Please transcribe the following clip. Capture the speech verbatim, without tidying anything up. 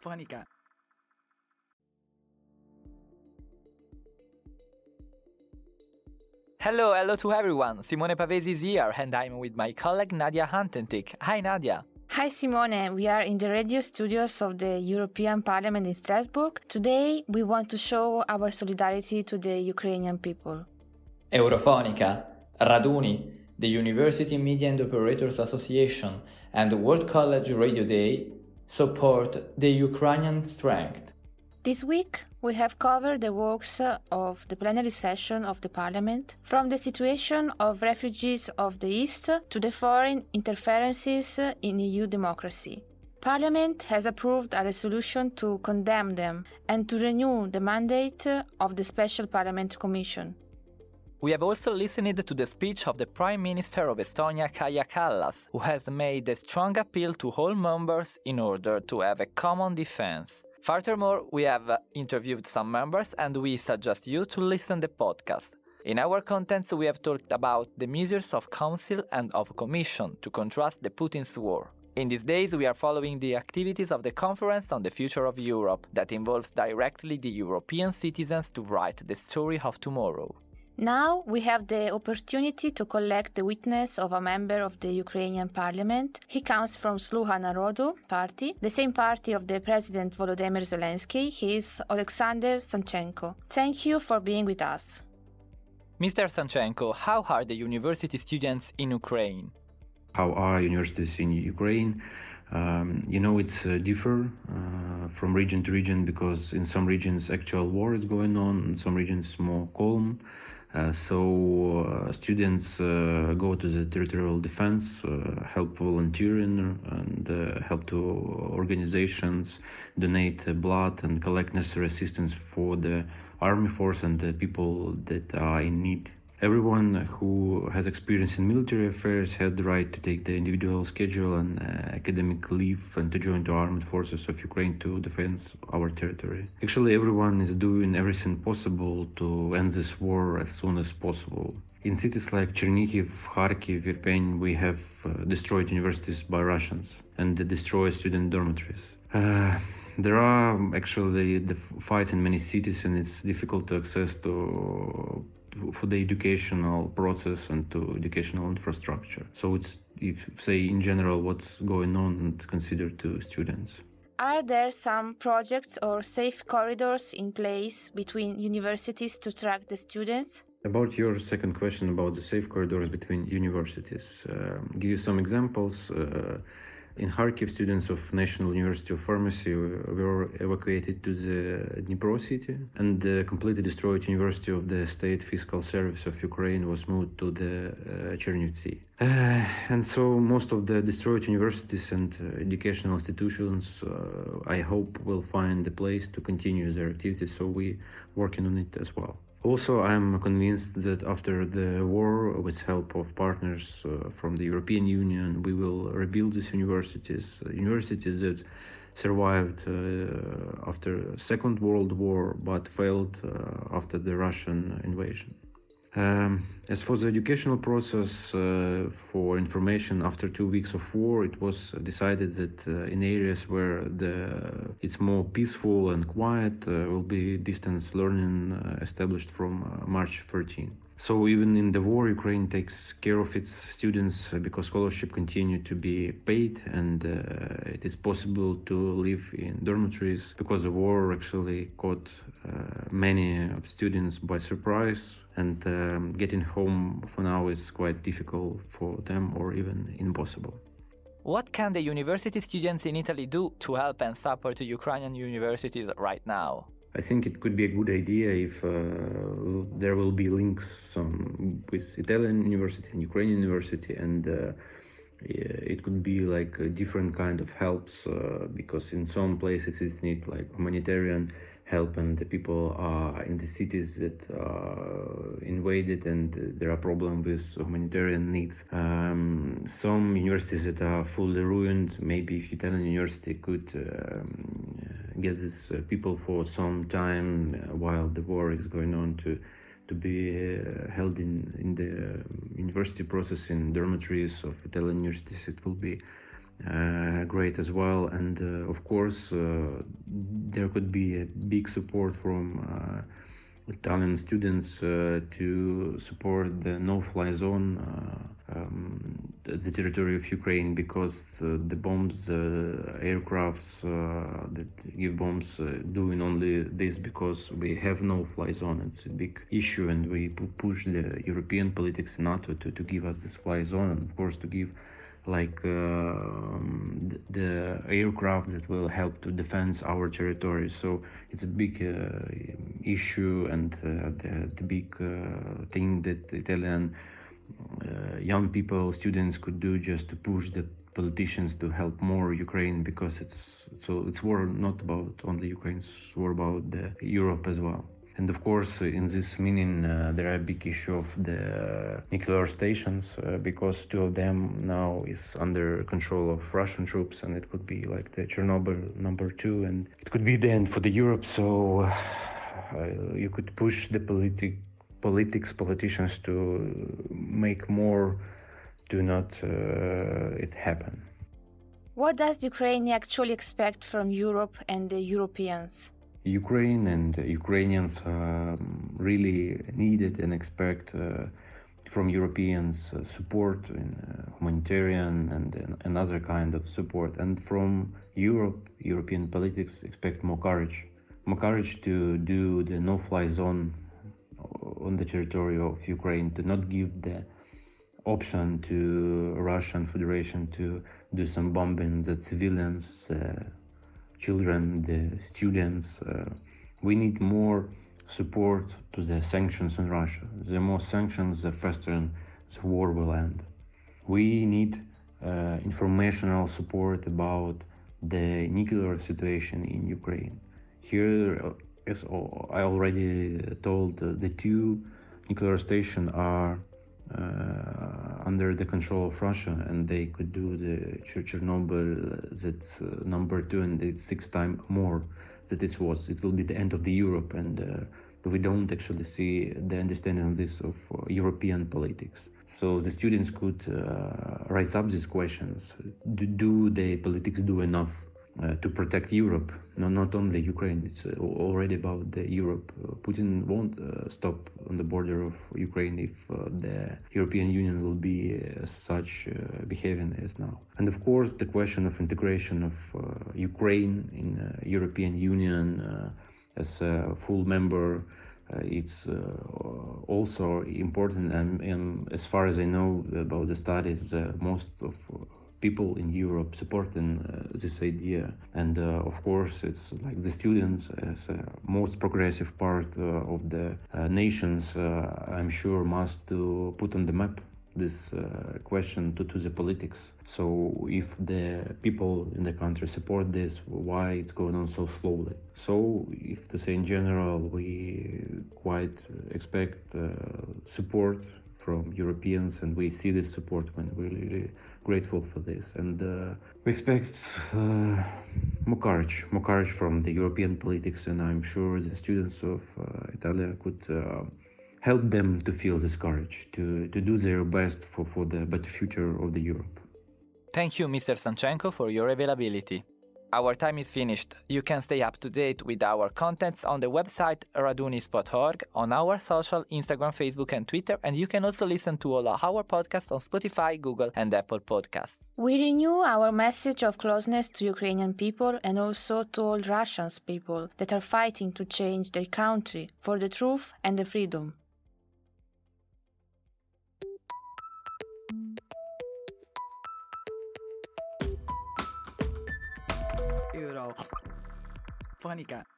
Eurofonica. Hello, hello to everyone. Simone Pavesi is here, and I'm with my colleague Nadia Hantentik. Hi, Nadia. Hi Simone, we are in the radio studios of the European Parliament in Strasbourg. Today we want to show our solidarity to the Ukrainian people. Eurofonica, Raduni, the University Media and Operators Association, and the World College Radio Day support the Ukrainian strength. This week we have covered the works of the plenary session of the Parliament, from the situation of refugees of the East to the foreign interferences in E U democracy. Parliament has approved a resolution to condemn them and to renew the mandate of the Special Parliament Commission. We have also listened to the speech of the Prime Minister of Estonia, Kaja Kallas, who has made a strong appeal to all members in order to have a common defense. Furthermore, we have interviewed some members and we suggest you to listen to the podcast. In our contents, we have talked about the measures of Council and of Commission to contrast the Putin's war. In these days, we are following the activities of the Conference on the Future of Europe that involves directly the European citizens to write the story of tomorrow. Now we have the opportunity to collect the witness of a member of the Ukrainian parliament. He comes from Sluha Narodu party, the same party of the President Volodymyr Zelensky. He is Alexander Sanchenko. Thank you for being with us. Mister Sanchenko, how are the university students in Ukraine? How are universities in Ukraine? Um, you know, it's uh, differ uh, from region to region because in some regions actual war is going on, in some regions more calm. Uh, so uh, students uh, go to the territorial defense, uh, help volunteering and uh, help to organizations, donate uh, blood and collect necessary assistance for the army force and the people that are in need. Everyone who has experience in military affairs had the right to take the individual schedule and uh, academic leave and to join the armed forces of Ukraine to defend our territory. Actually, everyone is doing everything possible to end this war as soon as possible. In cities like Chernihiv, Kharkiv, Irpin, we have uh, destroyed universities by Russians and they destroy student dormitories. Uh, there are actually the fights in many cities and it's difficult to access to for the educational process and to educational infrastructure. So it's, if say in general, what's going on and considered to students. Are there some projects or safe corridors in place between universities to track the students? About your second question about the safe corridors between universities, uh, give you some examples. Uh, In Kharkiv, students of National University of Pharmacy were evacuated to the Dnipro city, and the completely destroyed University of the State Fiscal Service of Ukraine was moved to the uh, Chernivtsi. Uh, and so most of the destroyed universities and uh, educational institutions, uh, I hope, will find a place to continue their activities, so we're working on it as well. Also, I'm convinced that after the war, with help of partners uh, from the European Union, we will rebuild these universities, uh, universities that survived uh, after Second World War but failed uh, after the Russian invasion. Um, as for the educational process, uh, for information, after two weeks of war, it was decided that uh, in areas where the, it's more peaceful and quiet, uh, will be distance learning uh, established from uh, March thirteenth. So even in the war, Ukraine takes care of its students uh, because scholarship continue to be paid and uh, it is possible to live in dormitories because the war actually caught uh, many of students by surprise. And um, getting home for now is quite difficult for them or even impossible. What can the university students in Italy do to help and support the Ukrainian universities right now? I think it could be a good idea if uh, there will be links some, with Italian university and Ukrainian university, and uh, it could be like a different kind of helps uh, because in some places it's need like humanitarian help and the people are in the cities that are invaded and there are problems with humanitarian needs. Um, some universities that are fully ruined, maybe if Italian university could um, get these uh, people for some time uh, while the war is going on to to be uh, held in, in the university process in dormitories of Italian universities, it will be uh, great as well. And uh, of course, uh, there could be a big support from uh, Italian students uh, to support the no-fly zone, uh, um, the territory of Ukraine, because uh, the bombs, uh, aircrafts uh, that give bombs, uh, doing only this because we have no-fly zone. It's a big issue, and we push the European politics in NATO to, to give us this fly zone, and of course to give like uh, the aircraft that will help to defend our territory. So it's a big uh, issue, and uh, the, the big uh, thing that Italian uh, young people, students could do just to push the politicians to help more Ukraine, because it's so it's war not about only Ukraine, it's war about the Europe as well. And of course, in this meaning, uh, there are a big issue of the nuclear stations, uh, because two of them now is under control of Russian troops, and it could be like the Chernobyl number two, and it could be the end for the Europe. So uh, you could push the politic, politics, politicians to make more, to not uh, it happen. What does Ukraine actually expect from Europe and the Europeans? Ukraine and Ukrainians um, really needed and expect uh, from Europeans uh, support in uh, humanitarian and, and another kind of support. And from Europe, European politics expect more courage. More courage to do the no-fly zone on the territory of Ukraine, to not give the option to Russian Federation to do some bombing the civilians, uh, children, the students. Uh, we need more support to the sanctions on Russia. The more sanctions, the faster the war will end. We need uh, informational support about the nuclear situation in Ukraine. Here, as I already told, uh, the two nuclear stations are uh, under the control of Russia, and they could do the Chernobyl, that's uh, number two, and it's six times more that it was. It will be the end of the Europe, and uh, we don't actually see the understanding of this of uh, European politics. So the students could uh, raise up these questions. Do, do the politics do enough uh, to protect Europe? No, not only Ukraine, it's uh, already about the Europe. Uh, Putin won't uh, stop on the border of Ukraine if uh, the European Union will be uh, such uh, behaving as now. And of course, the question of integration of uh, Ukraine in uh, European Union uh, as a full member, Uh, it's uh, also important, and, and as far as I know about the studies, uh, most of people in Europe supporting uh, this idea. And uh, of course, it's like the students as a most progressive part uh, of the uh, nations, uh, I'm sure, must to put on the map this uh, question to, to the politics. So if the people in the country support this, why it's going on so slowly? So if to say in general, we quite expect uh, support from Europeans, and we see this support when we're really grateful for this. And uh, we expect uh, more courage, more courage from the European politics, and I'm sure the students of uh, Italia could uh, help them to feel this courage, to, to do their best for, for the better future of the Europe. Thank you, Mister Sanchenko, for your availability. Our time is finished. You can stay up to date with our contents on the website radunis dot org, on our social, Instagram, Facebook and Twitter, and you can also listen to all our podcasts on Spotify, Google and Apple Podcasts. We renew our message of closeness to Ukrainian people and also to all Russian people that are fighting to change their country for the truth and the freedom. Euro. Funny guy.